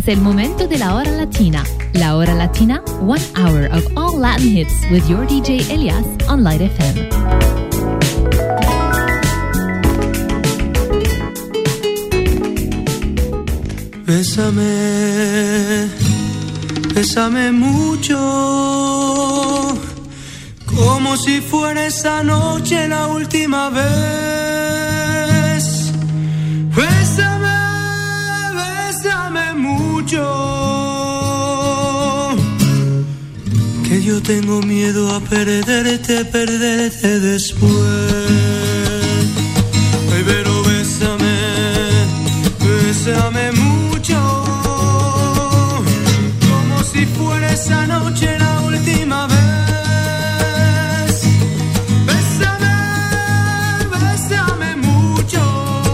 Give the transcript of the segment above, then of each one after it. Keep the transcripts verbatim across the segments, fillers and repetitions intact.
Es el momento de la hora latina. La hora latina, one hour of all Latin hits with your D J Elias on Light F M. Bésame, bésame mucho, como si fuera esa noche la última vez. Bésame, bésame mucho, que yo tengo miedo a perderte, perderte después. Ay, pero bésame, bésame mucho, como si fuera esa noche la última vez. Bésame, bésame mucho,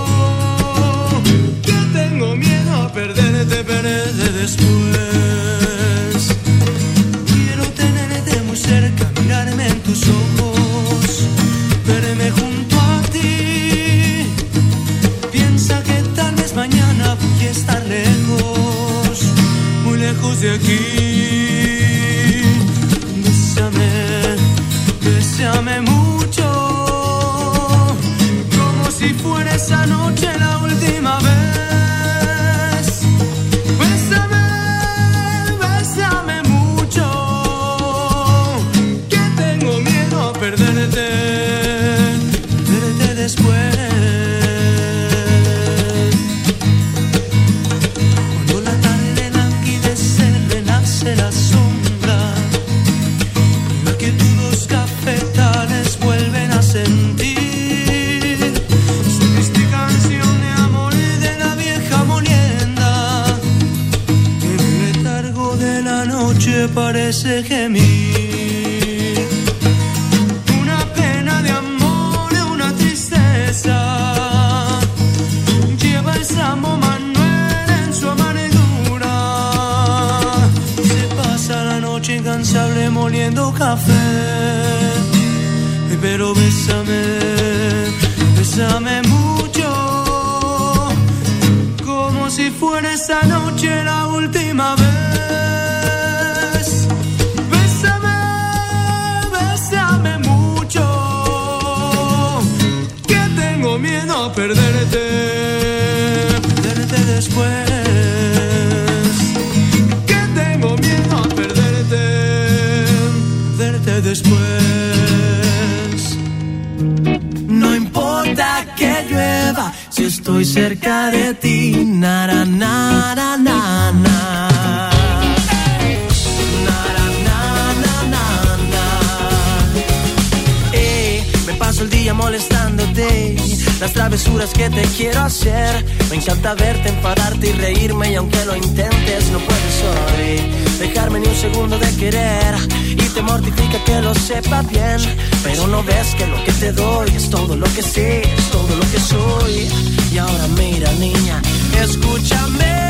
que tengo miedo a perderte, perderte después. Quiero tenerte muy cerca, mirarme en tus ojos, verme junto a ti. Piensa que tal vez mañana voy a estar lejos, muy lejos de aquí. Bésame, bésame mucho, como si fuera esa noche la última vez. Bésame, bésame mucho, que tengo miedo a perderte, perderte después. La sombra, la que tus cafetales vuelven a sentir. Su triste canción de amor de la vieja molienda, que el letargo de la noche parece gemir. Una pena de amor, una tristeza, lleva el Samo Manuel en su amargura. La noche incansable moliendo café. Pero bésame, bésame mucho, como si fuera esa noche la última vez. Bésame, bésame mucho, que tengo miedo a perderte, perderte después. Después. No importa que llueva si estoy cerca de ti. Na, na, na, na, na, na. Paso el día molestándote, las travesuras que te quiero hacer. Me encanta verte, enfadarte y reírme, y aunque lo intentes no puedes hoy dejarme ni un segundo de querer. Y te mortifica que lo sepa bien, pero no ves que lo que te doy es todo lo que sé, es todo lo que soy. Y ahora mira, niña, escúchame.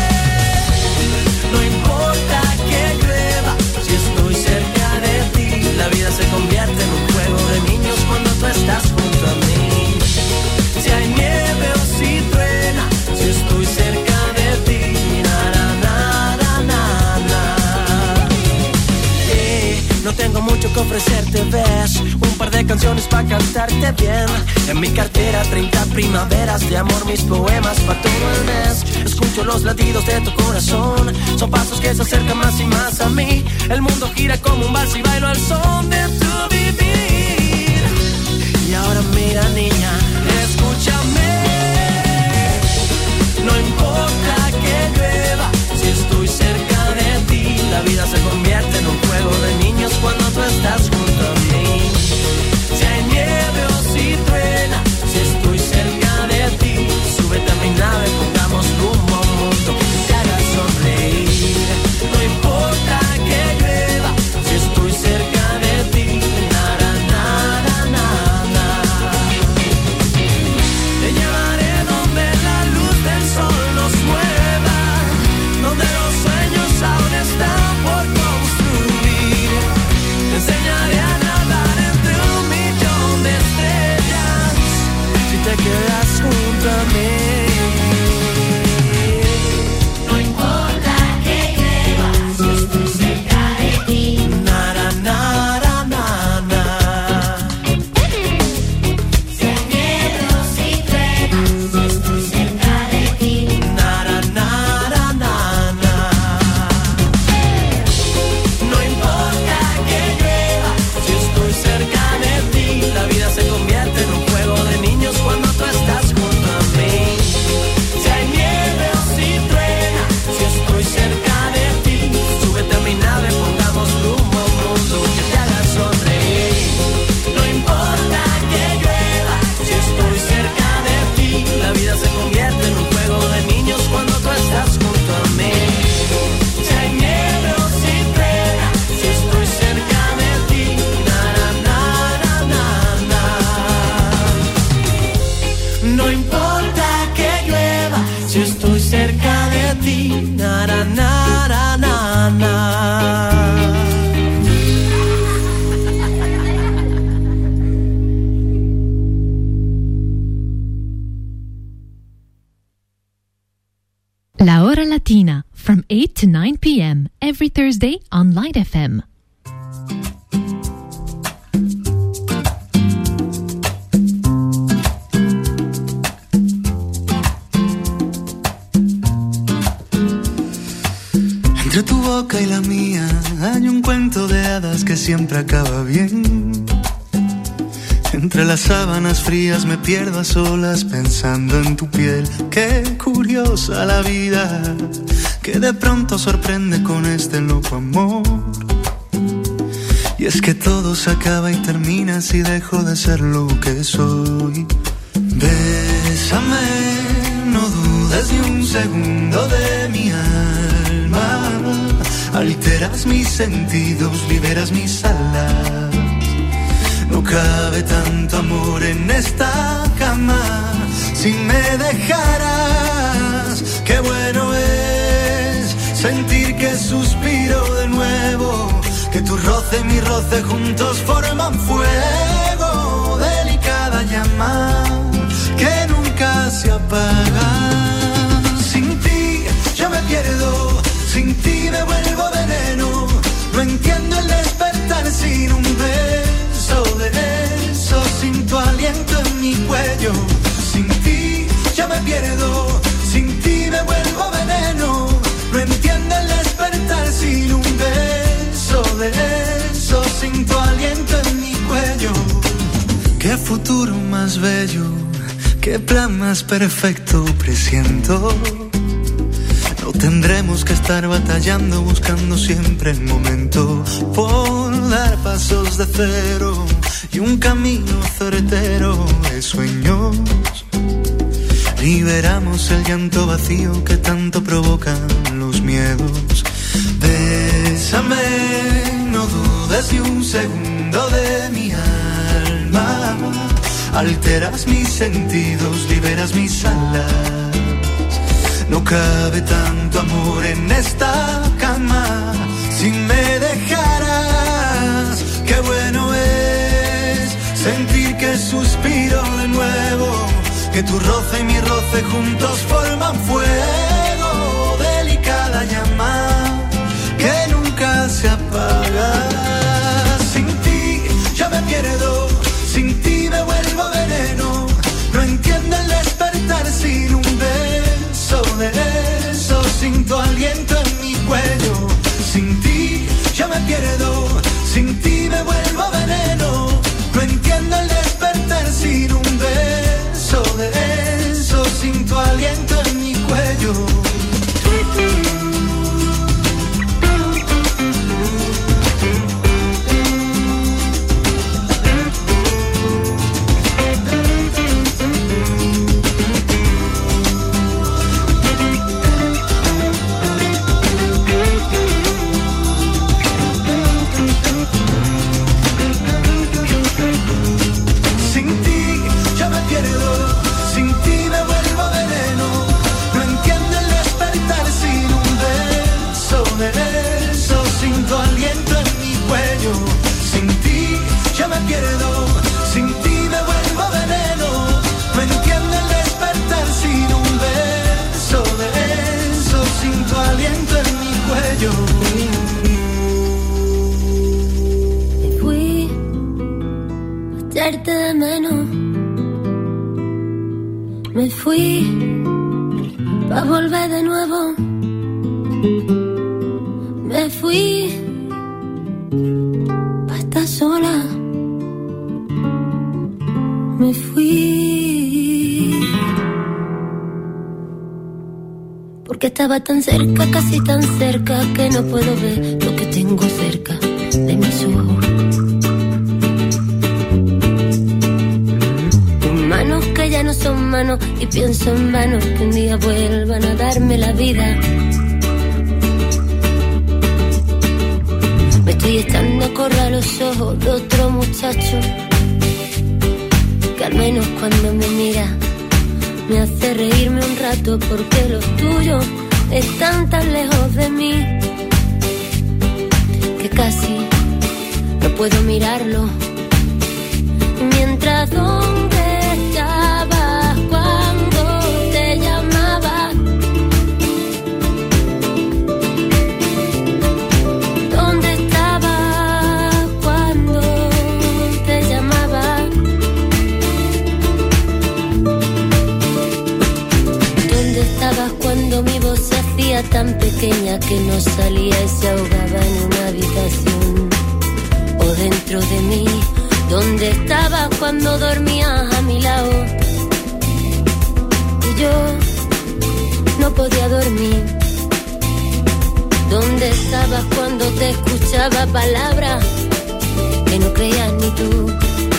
No importa que llueva si estoy cerca de ti. La vida se convierte en un juego de niños cuando tú estás junto a mí. Si hay nieve o si truena, si estoy cerca de ti. Na, na, na, na, na, na. Eh, no tengo mucho que ofrecerte, ves, un par de canciones para cantarte bien. En mi cartera treinta primaveras de amor, mis poemas para todo el mes. Escucho los latidos de tu corazón, son pasos que se acercan más y más a mí. El mundo gira como un vals y bailo al son de tu vivir. Y ahora mira, niña, escúchame. No importa que llueva si estoy cerca de ti. La vida se convierte en un juego de niños cuando tú estás junto a mí. Si hay nieve o si truena, si estoy cerca de ti, súbete a mi nave, pongamos rumbo a un mundo que te haga sonreír. No importa que llueva si estoy cerca de ti. Nada, nada, nada. Te llevaré donde la luz del sol nos mueva. na, na, na, na. La Hora Latina, from eight to nine p.m. every Thursday on Light F M. Entre tu boca y la mía hay un cuento de hadas que siempre acaba bien. Entre las sábanas frías me pierdo a solas pensando en tu piel. Qué curiosa la vida, que de pronto sorprende con este loco amor. Y es que todo se acaba y termina si dejo de ser lo que soy. Bésame, no dudes ni un segundo de mi alma. Alteras mis sentidos, liberas mis alas. No cabe tanto amor en esta cama. Si me dejaras, qué bueno es sentir que suspiro de nuevo, que tu roce y mi roce juntos forman fuego. Delicada llama que nunca se apaga. Sin ti yo me pierdo, sin ti me vuelvo veneno. No entiendo el despertar sin un beso de eso, sin tu aliento en mi cuello. Sin ti yo me pierdo, sin ti me vuelvo veneno. No entiendo el despertar sin un beso de eso, sin tu aliento en mi cuello. Qué futuro más bello, qué plan más perfecto presiento. No tendremos que estar batallando, buscando siempre el momento por dar pasos de cero y un camino certero de sueños. Liberamos el llanto vacío que tanto provocan los miedos. Bésame, no dudes ni un segundo de mi alma. Alteras mis sentidos, liberas mis alas. No cabe tanto amor en esta cama. Si me dejaras, qué bueno es sentir que suspiro de nuevo, que tu roce y mi roce juntos forman fuego. Delicada llama que nunca se apaga. Sin ti yo me pierdo, sin ti me vuelvo veneno. No entiendo el despertar sin un beso de eso, sin tu aliento en mi cuello. Sin ti yo me pierdo, sin ti me vuelvo veneno. No entiendo el despertar sin un beso de eso, sin tu aliento en mi cuello. De menos. Me fui pa' volver de nuevo. Me fui pa' estar sola. Me fui porque estaba tan cerca, casi tan cerca, que no puedo ver lo que tengo cerca de mis ojos. Manos que ya no son manos y pienso en vano que un día vuelvan a darme la vida. Me estoy echando a correr los ojos de otro muchacho que al menos cuando me mira me hace reírme un rato, porque los tuyos están tan lejos de mí que casi no puedo mirarlo. Mientras ¿dónde estabas cuando te llamaba? ¿Dónde estabas cuando te llamaba? ¿Dónde estabas cuando mi voz se hacía tan pequeña que no salía y se ahogaba en una habitación o dentro de mí? ¿Dónde estabas cuando dormías a mi lado? Y yo no podía dormir. ¿Dónde estabas cuando te escuchaba palabras que no creías ni tú?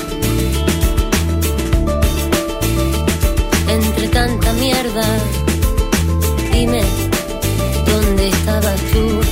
Entre tanta mierda, dime, ¿dónde estabas tú?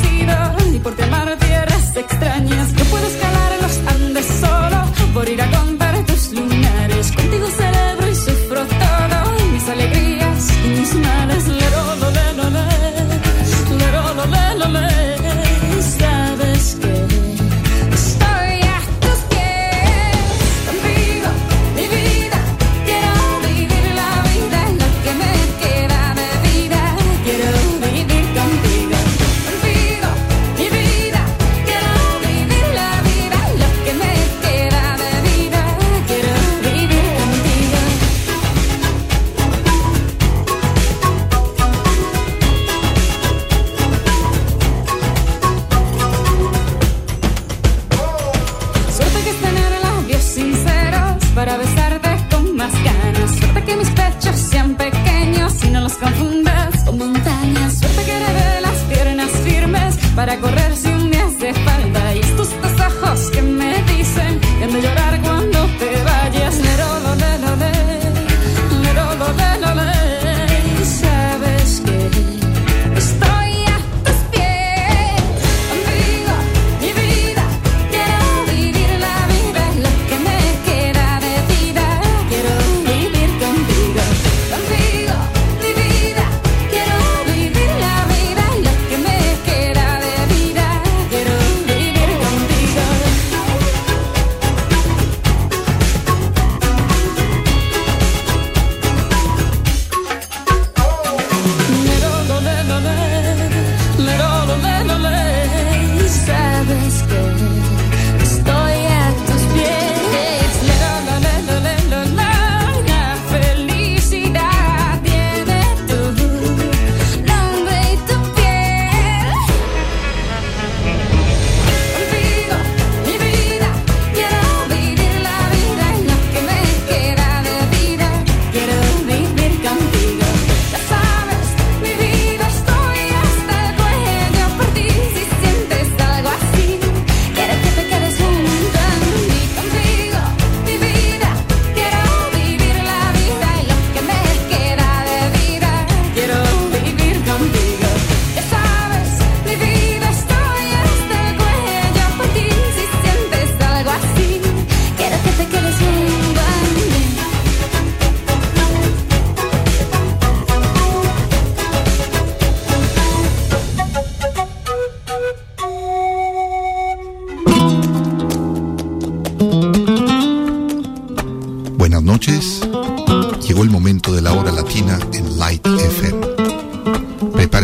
Extrañas, no puedo escalar en los Andes solo por ir a con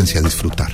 frecuencia disfrutar.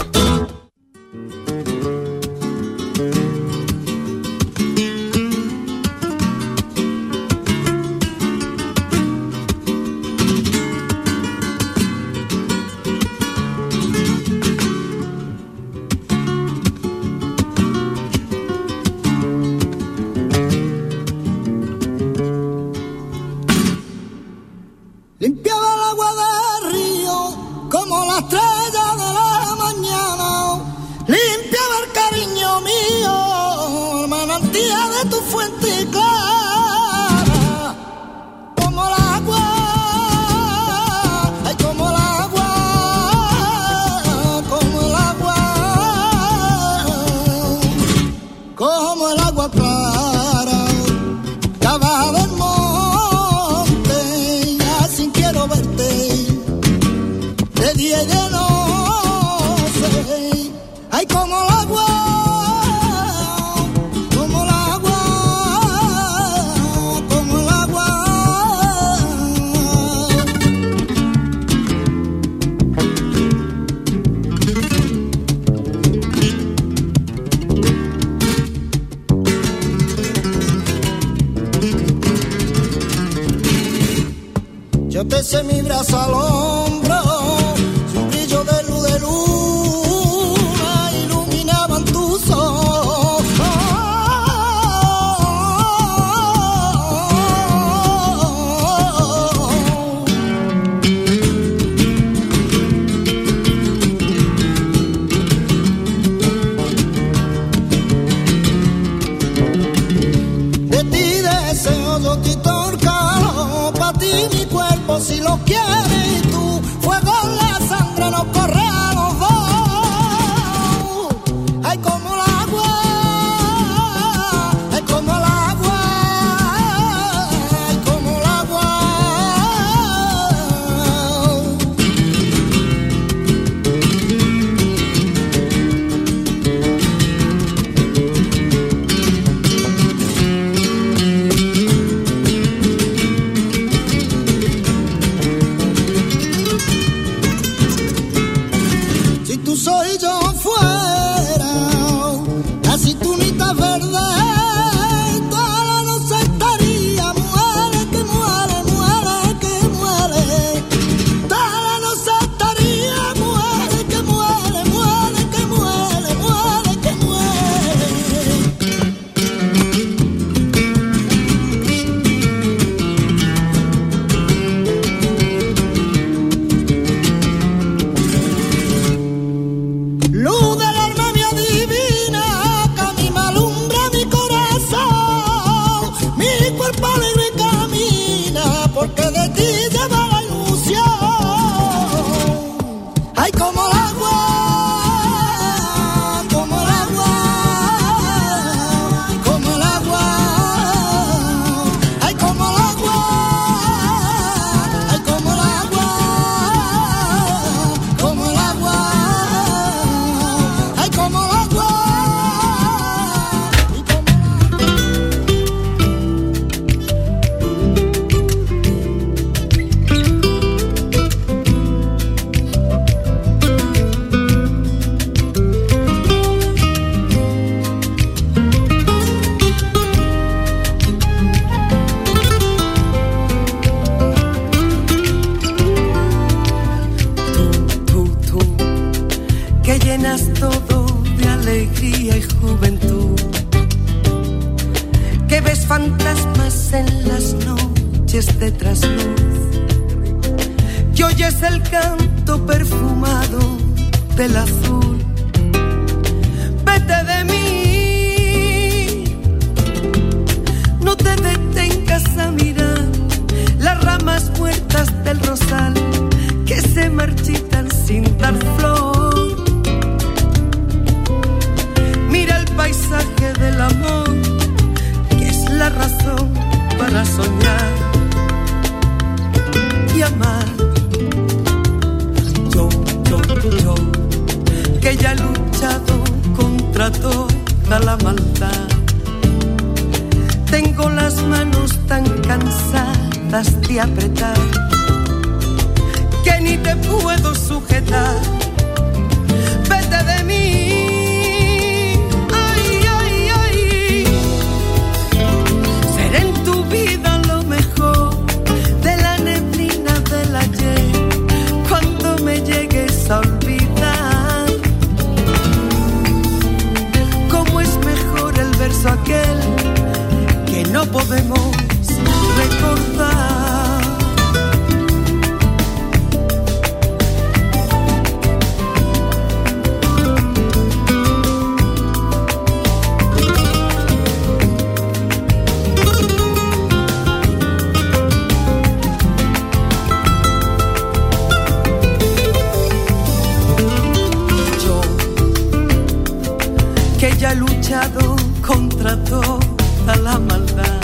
que ya he luchado contra toda la maldad.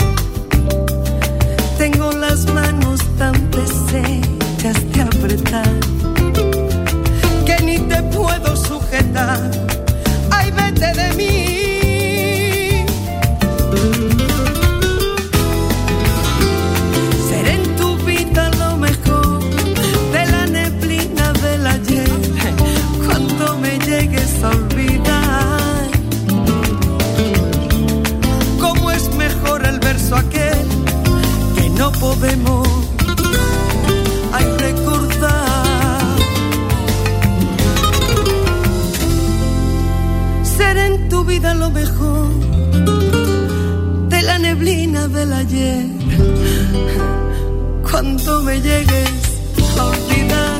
Tengo las manos tan deshechas de apretar que ni te puedo sujetar. Ay, vete de mí. Seré en tu vida lo mejor de la neblina del ayer, cuando me llegues a olvidar. Cómo es mejor el verso aquel que no podemos ay, recordar. Seré en tu vida lo mejor de la neblina del ayer, cuando me llegues a olvidar.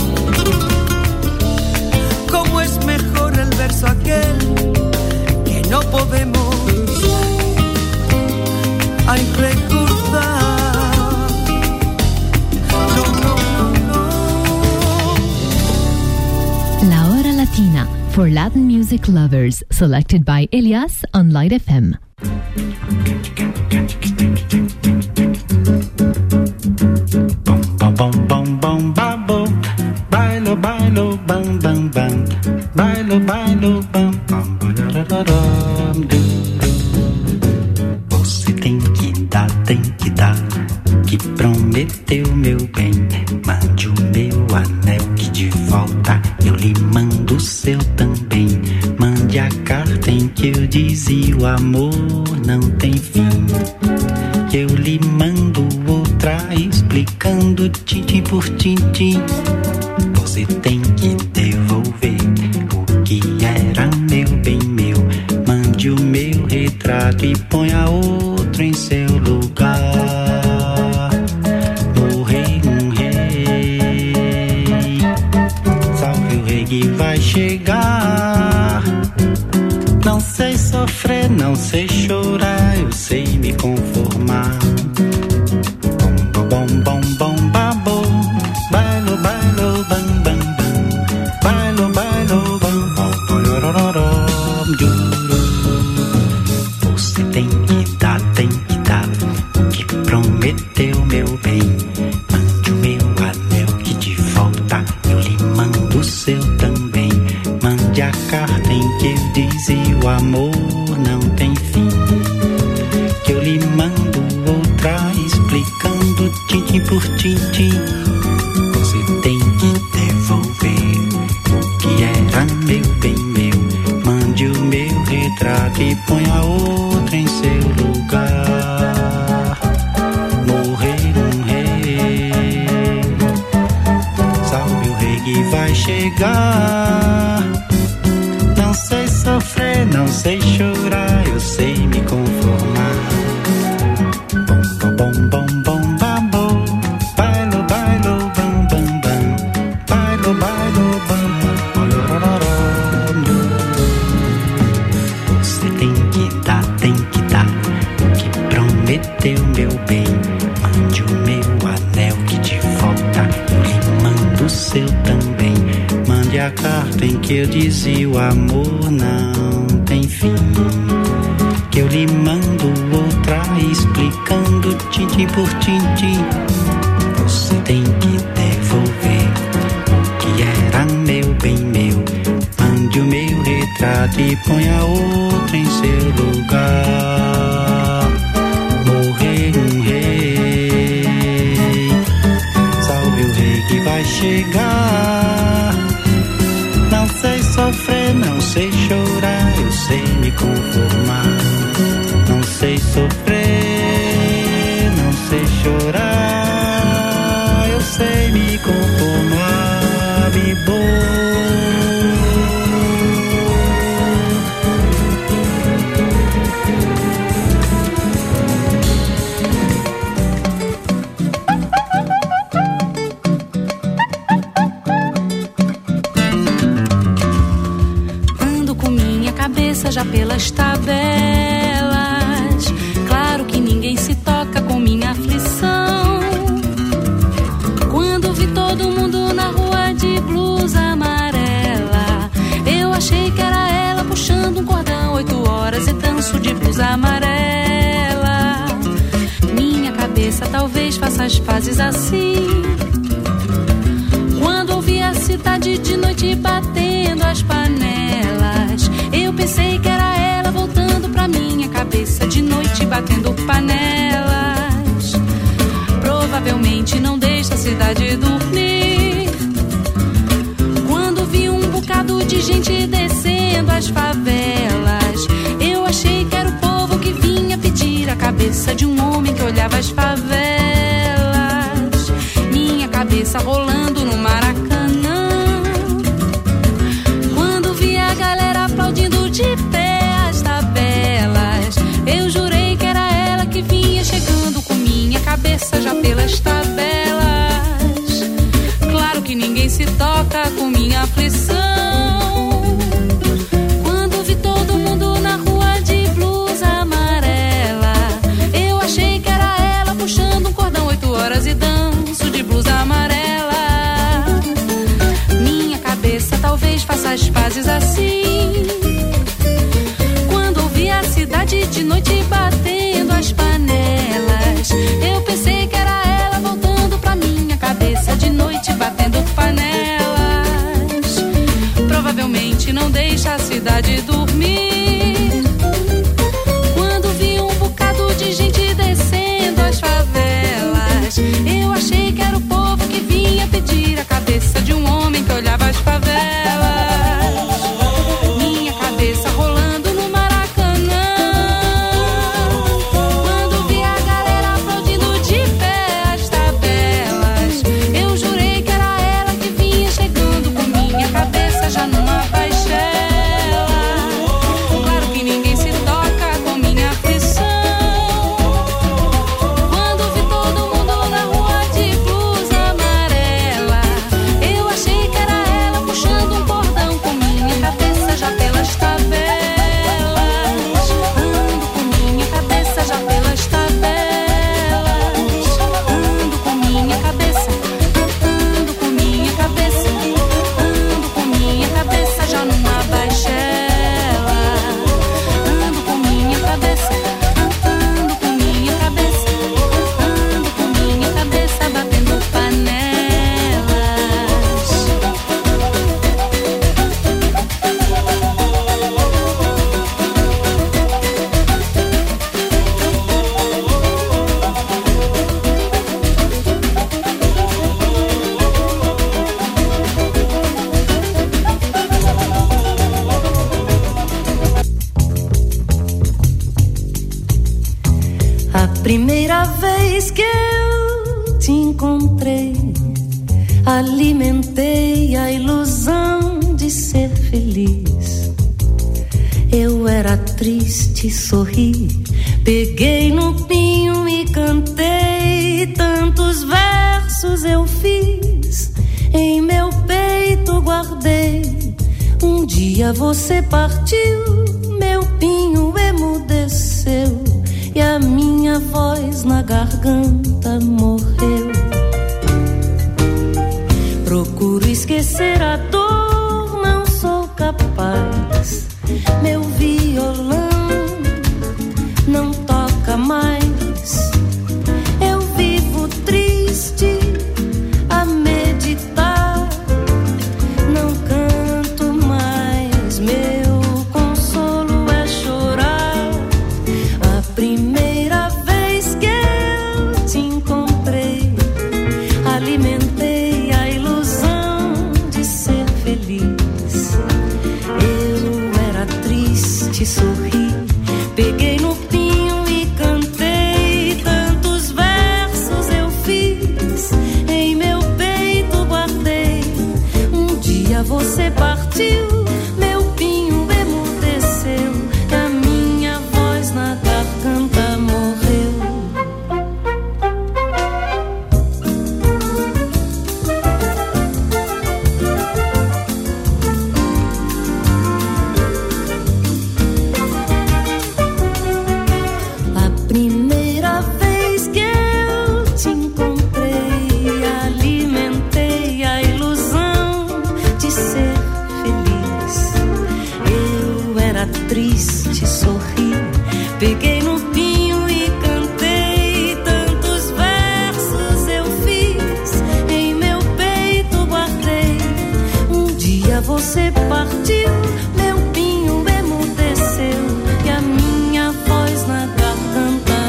Cómo es mejor el verso aquel que no podemos ay, recordar. No, no, no, no. La Hora Latina, for Latin music lovers, selected by Elias on Light F M. Bom, bom, bom, bom, babo. Bailo, bailo, bam, bam, bam. Bailo, bailo, bam, bam, bam. Você tem que dar, tem que dar, que prometeu meu bem. Mande o meu anel que de volta eu lhe mando o seu também. Mande a carta em que eu dizia o amor não tem fim. Eu lhe mando outra explicando tintim por tintim. Você tem que devolver o que era meu bem meu. Mande o meu retrato e ponha outro em seu lugar. O rei, um rei, salve o rei que vai chegar. Não sei sofrer, não sei chorar, eu sei me conformar. Bom, bom, bom, bom, babo. Bailo, bailo, bam, bam, bam. Bailo, bailo, bam, bam, bam, juro. Você tem que dar, tem que dar o que prometeu, meu bem. Mande o meu anel que de volta eu lhe mando o seu também. Mande a carta em que eu dizia o amor não tem fim. Que eu lhe mando outra explicando tintim por tintim. Você tem que devolver o que era meu bem meu. Mande o meu retrato e ponha outro em seu lugar. Morrer um rei, salve o rei que vai chegar. Não sei sofrer, não sei chorar, eu sei me conformar. Bom, bom, bom, bom, babo. Bailo, bailo, bam, bam, bam. Bailo, bailo, bam, bam, bam. Você tem que dar, tem que dar o que prometeu, meu bem. Mande o meu anel que de volta eu lhe mando o seu também. Mande a carta em que eu dizia o amor não tem fim. Que eu lhe mando outra explicando tintim por tintim. Você tem que devolver o que era meu bem meu. Mande o meu retrato e ponha outro em seu lugar. Morrer um rei, salve o rei que vai chegar. Não sei sofrer, não sei chorar, eu sei me conformar. Não sei sofrer, não sei chorar, eu sei me conformar, me Ando com minha cabeça já pelas tabelas. Claro que ninguém se toca com minha aflição. Quando vi todo mundo na rua de blusa amarela, eu achei que era ela puxando um cordão. talvez faça as pazes assim. Quando ouvi a cidade de noite batendo as panelas, eu pensei que era ela voltando pra minha cabeça de noite batendo panelas. Provavelmente não deixa a cidade dormir. Quando vi um bocado de gente descendo as favelas, eu achei que era o povo que vinha pedir a cabeça de um homem que olhava as favelas. Minha cabeça rolando no Maracanã. Quando vi a galera aplaudindo de pé as tabelas, eu jurei que era ela que vinha chegando com minha cabeça já pelas tabelas. Claro que ninguém se toca com minha aflição. Quando vi todo mundo na rua de blusa amarela, eu achei que era ela puxando um cordão oito horas e danço de blusa amarela. Minha cabeça talvez faça as pazes assim. Quando ouvi a cidade de noite batendo as panelas, eu pensei que era ela voltando pra minha cabeça de noite batendo panelas. Provavelmente não deixa a cidade dormir. Quando vi um bocado de gente descendo as favelas, eu achei que era o povo que vinha pedir a cabeça de um homem que olhava as favelas. Minha cabeça rolando no Maracanã. Quando vi a galera aplaudindo de pé as tabelas, eu jurei que era ela que vinha chegando com minha cabeça já numa baixela. Claro que ninguém se toca com minha aflição. Quando vi todo mundo na rua de blusa amarela, eu achei que era ela puxando um cordão com minha cabeça já pelas tabelas. Ando com minha cabeça já pelas tabelas. Ando com minha cabeça, ando com minha cabeça, ando com minha cabeça já numa baixela. Ando com minha cabeça, ando com minha cabeça, ando com minha cabeça batendo panelas. A primeira vez que eu te encontrei, alimentei a ilusão de ser feliz. Eu era triste, sorri, peguei no pinho e cantei. Tantos versos eu fiz, em meu peito guardei. Um dia você partiu, meu pinho emudeceu e a minha voz na garganta morreu. Procuro esquecer a dor, não sou capaz. Meu violão não toca mais. Eu vivo triste a meditar. Não canto mais, meu consolo é chorar. A primeira vez que eu te encontrei, alimentei a ilusão de ser feliz. Eu era triste, sorri, peguei no pinho e cantei. Tantos versos eu fiz, em meu peito guardei. Um dia você partiu, meu pinho emudeceu e a minha voz na garganta morreu. A primeira vez que eu te encontrei, alimentei a ilusão de ser feliz. Eu era triste, sorri, peguei no pinho e cantei. Tantos versos meu pinho emudeceu e a minha voz na garganta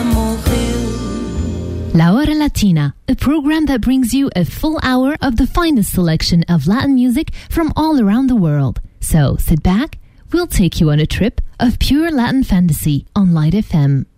morreu. La Hora Latina, a program that brings you a full hour of the finest selection of Latin music from all around the world. So sit back, we'll take you on a trip of pure Latin fantasy on Light F M.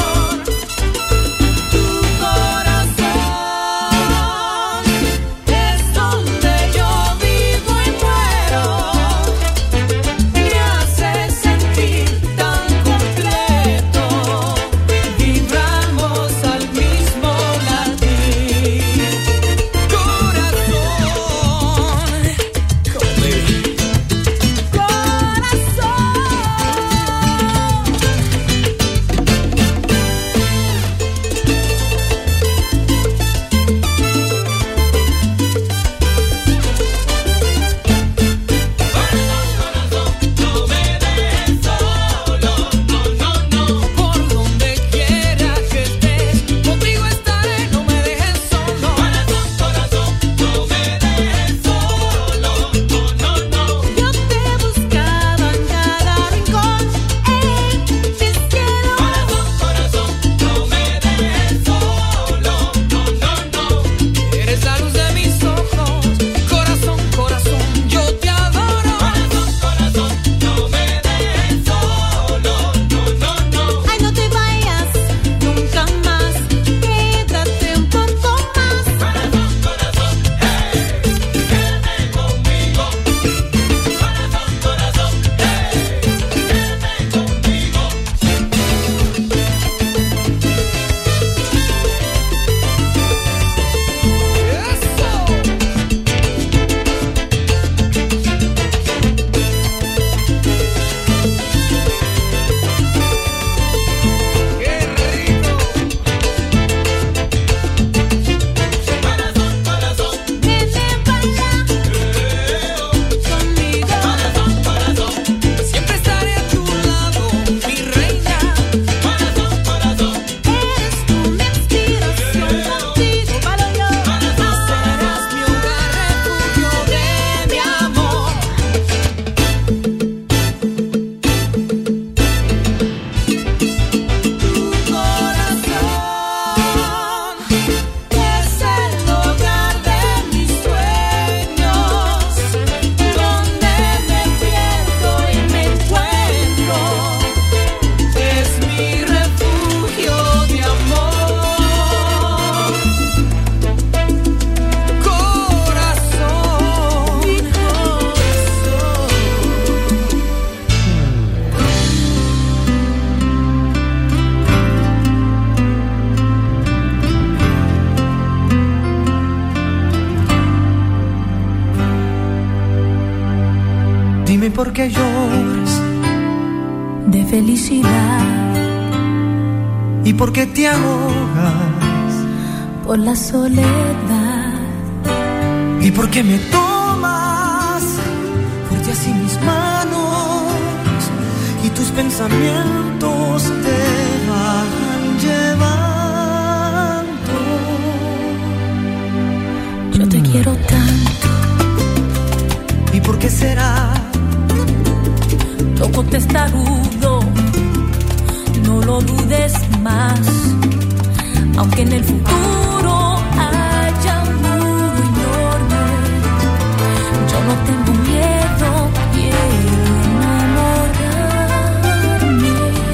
Corazón Dime por qué lloras de felicidad. ¿Y por qué te ahogas? Por la soledad. ¿Y por qué me tomas fuerte así mis manos y tus pensamientos te van llevando? Yo te quiero tanto. ¿Y por qué será? Toco testarudo, no lo dudes más. Aunque en el futuro haya un muro enorme, yo no tengo miedo, quiero enamorarme.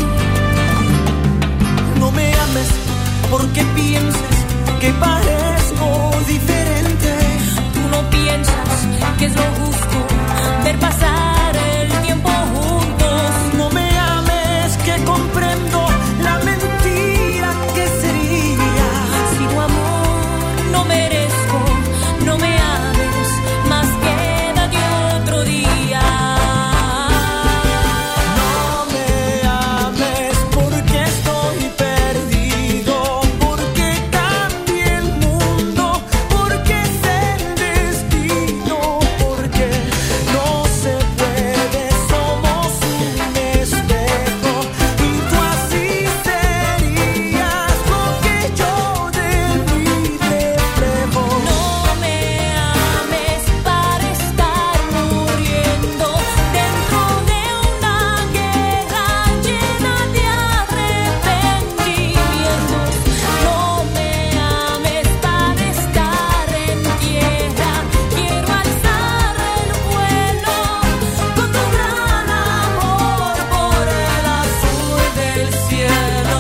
No me ames porque pienses que parezco diferente. Tú no piensas que es lo justo ver pasar el tiempo juntos. No me ames que comprendo la mentira que sería. Si tu amor no merezco, no me ames, más quédate otro día. No me ames porque estoy perdido, porque cambia el mundo, porque es el destino, porque no se puede, somos un espejo y tú así serías lo que yo de mí reflejo. No me ames para estar muriendo dentro de una guerra llena de arrepentimientos. No me ames para estar en tierra. Quiero alzar el vuelo con tu gran amor por el azul del cielo.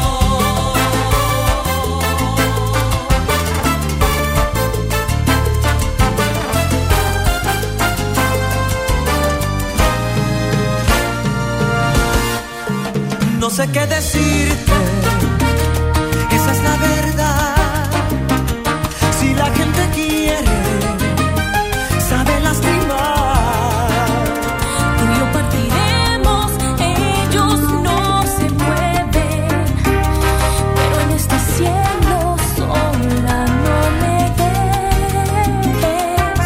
No sé qué decirte, esa es la verdad. Si la gente quiere, sabe lastimar. Tú y yo partiremos, ellos no se mueven, pero en este cielo sola no me dejes.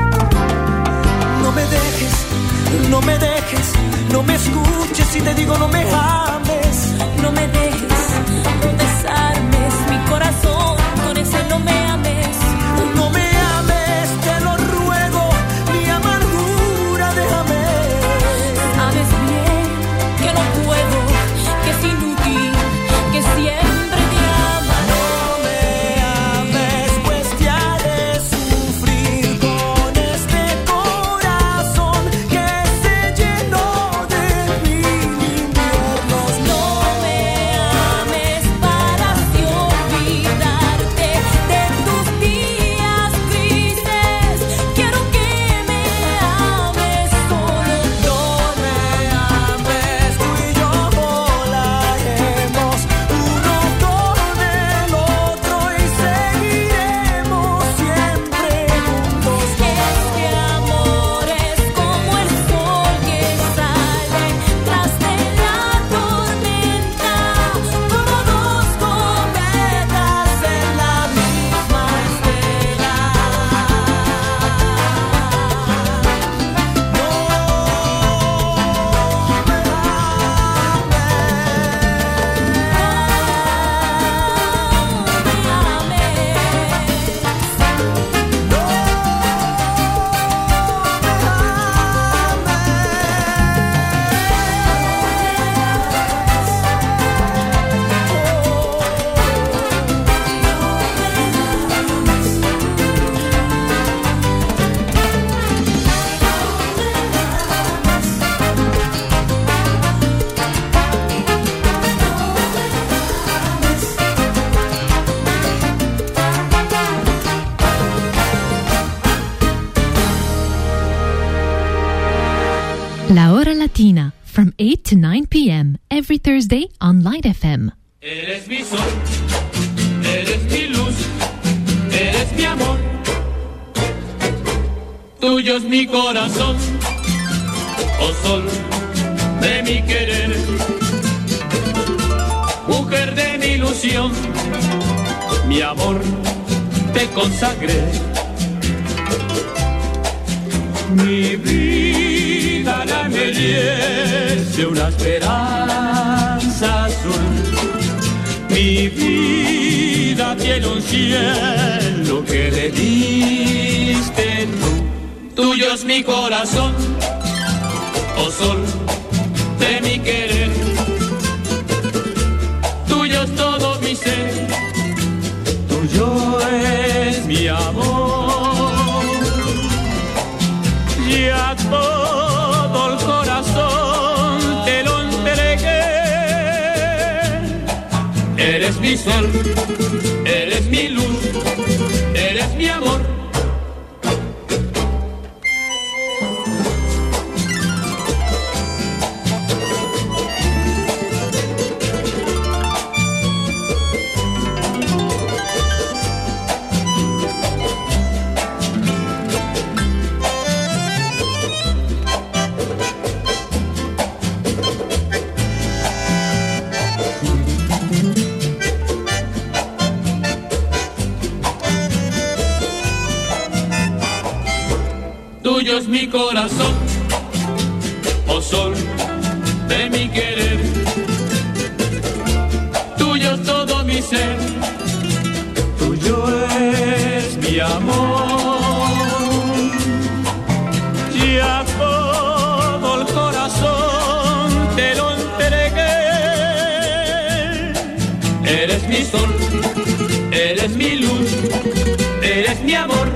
No me dejes, no me dejes, no me escuches si te digo no me ames. No me dejes, no desarmes mi corazón con ese no me ames. No me ames, te lo ruego, mi amargura déjame. Sabes bien que no puedo, que es inútil, que siempre te amaré. No me ames, pues te haré sufrir con este corazón que se llenó de mil inviernos. No me ames para así olvidarte de tus días grises. Quiero que me ames solo. No me ames, tú y yo volaremos uno con el otro y seguiremos siempre juntos. Este amor es como el sol que sale tras de la tormenta, como dos cometas en la misma estela. La Hora Latina, from eight to nine p.m. every Thursday on Light F M. Eres mi sol, eres mi luz, eres mi amor. Tuyo es mi corazón, oh sol de mi querer, mujer de mi ilusión, mi amor te consagré. Mi vida la embellece una esperanza azul. Mi vida tiene un cielo que le diste tú. Tuyo es mi corazón, oh sol de mi querer. Tuyo es todo mi ser, tuyo es mi amor. Y a todo el corazón te lo entregué. Eres mi sol, eres mi luz, eres mi amor. Tuyo es mi corazón, oh sol de mi querer. Tuyo es todo mi ser, tuyo es mi amor. Y a todo el corazón te lo entregué. Eres mi sol, eres mi luz, eres mi amor.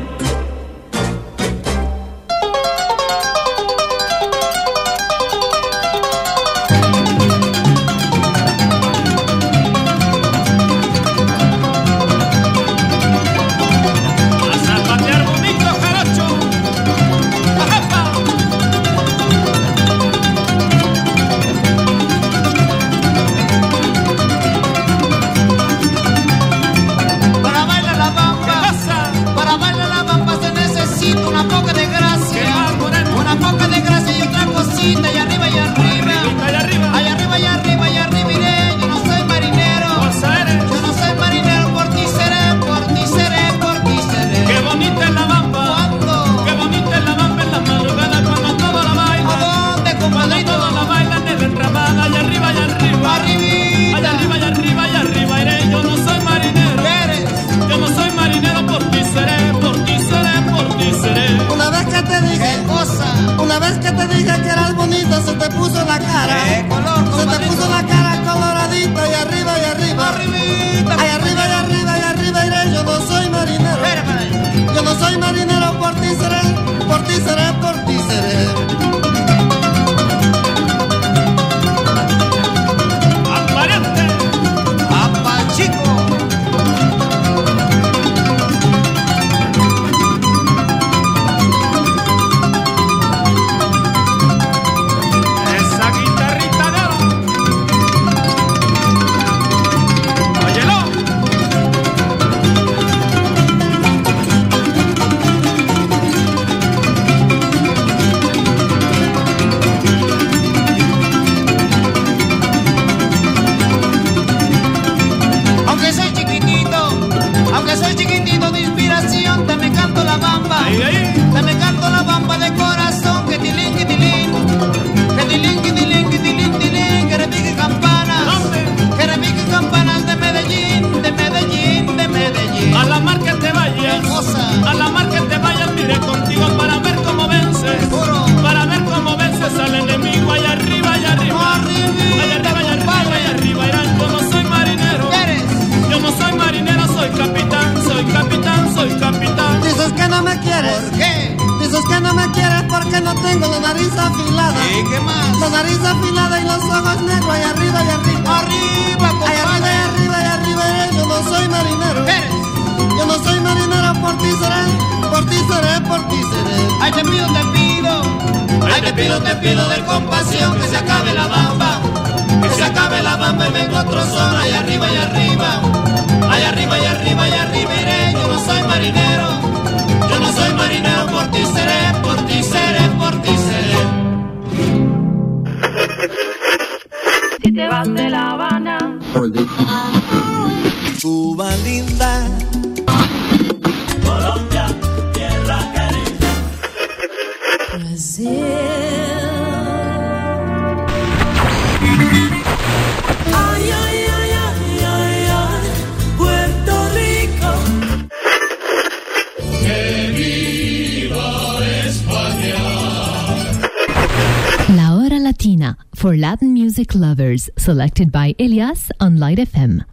for Latin music lovers, selected by Elias on Light F M.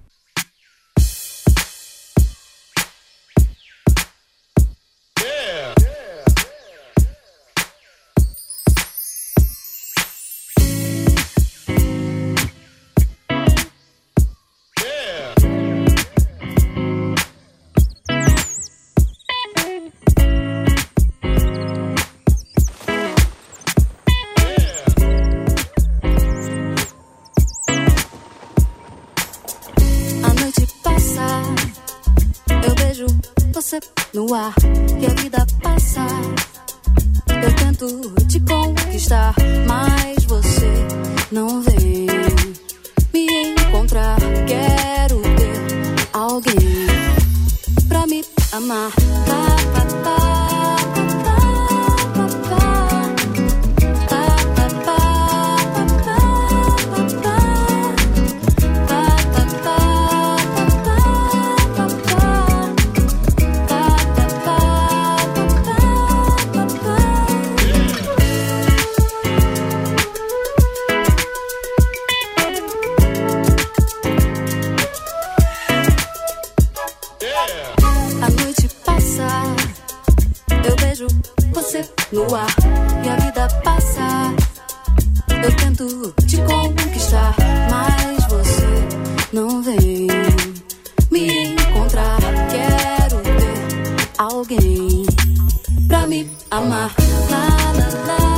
No ar que a vida passa, eu tento te conquistar, mas você não vem me encontrar. Quero ter alguém pra me amar. Pá, pá, pá. No ar e a vida passa, eu tento te conquistar, mas você não vem me encontrar. Quero ter alguém pra me amar. Lá, lá, lá.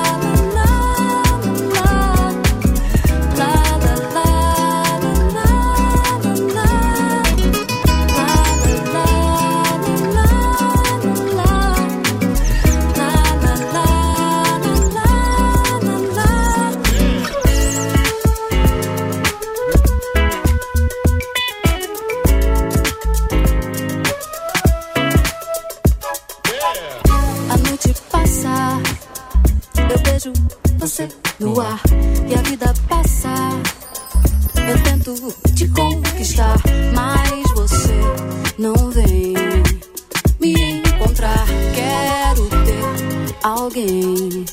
Você no ar e a vida passa, eu tento te conquistar, mas você não vem me encontrar. Quero ter alguém.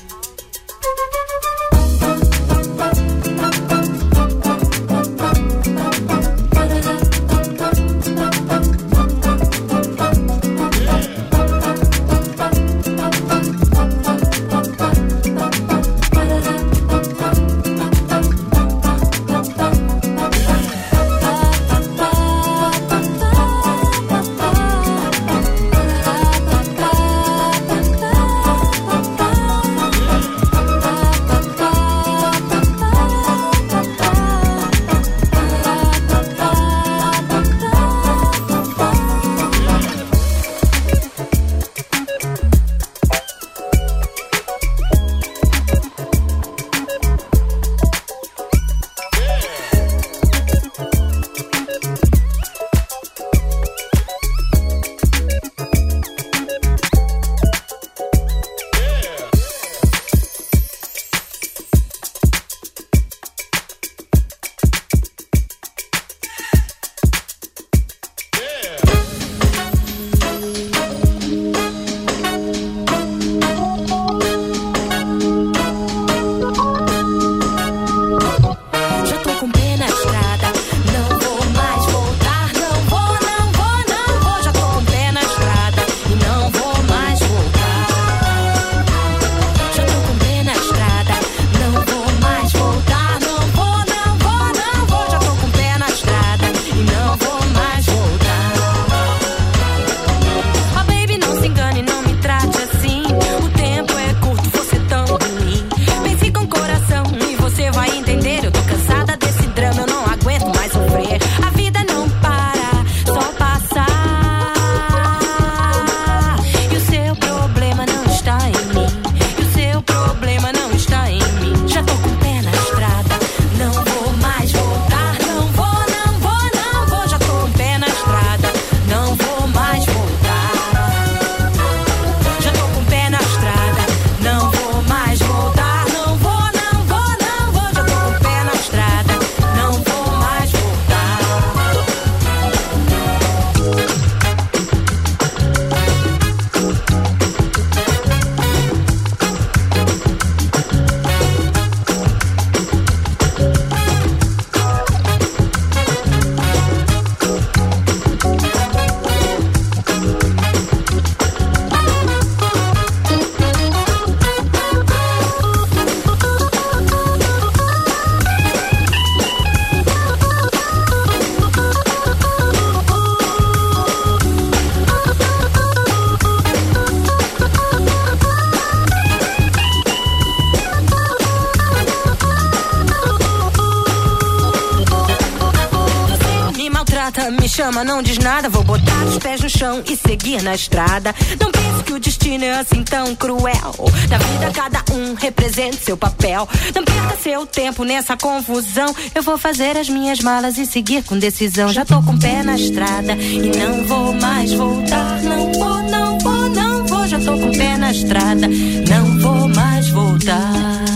chama, não diz nada. Vou botar os pés no chão e seguir na estrada. Não pense que o destino é assim tão cruel. Na vida cada um representa seu papel. Não perca seu tempo nessa confusão. Eu vou fazer as minhas malas e seguir com decisão. Já tô com o pé na estrada e não vou mais voltar. Não vou, não vou, não vou. Já tô com o pé na estrada, não vou mais voltar.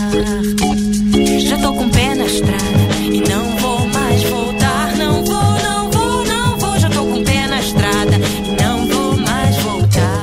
Já tô com o pé na estrada e não vou mais voltar. Não vou, não vou, não vou. Já tô com o pé na estrada e não vou mais voltar.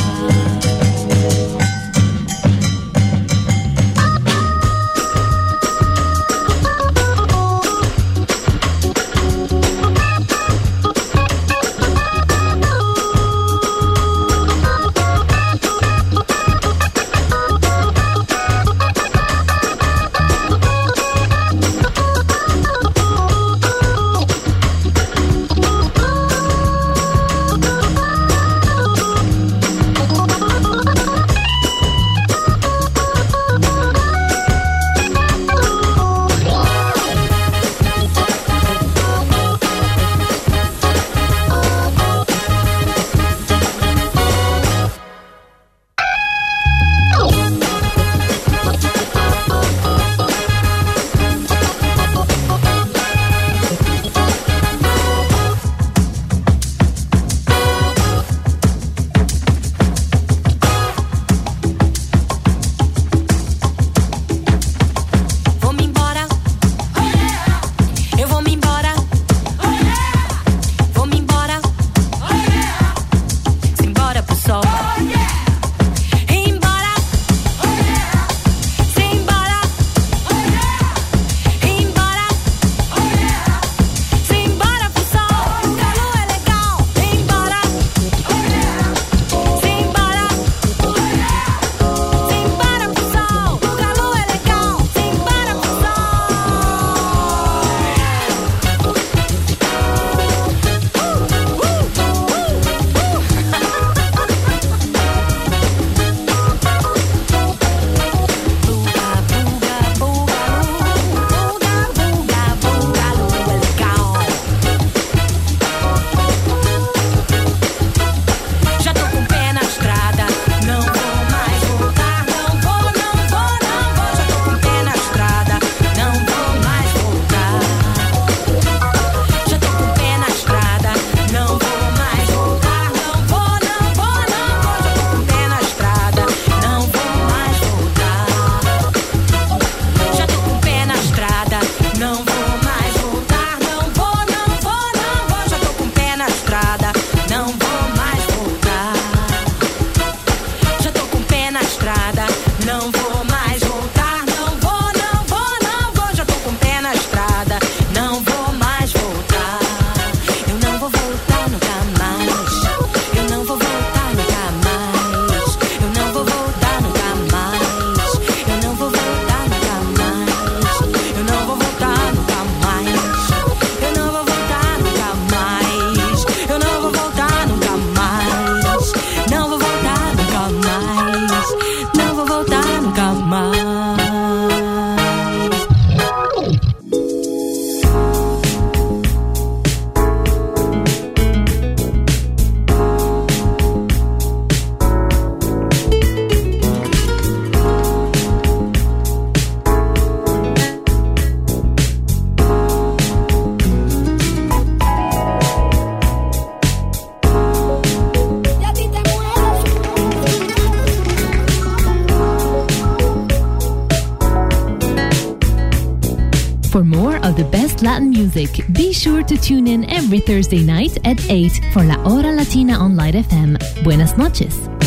For more of the best Latin music, be sure to tune in every Thursday night at eight for La Hora Latina on Light F M. Buenas noches.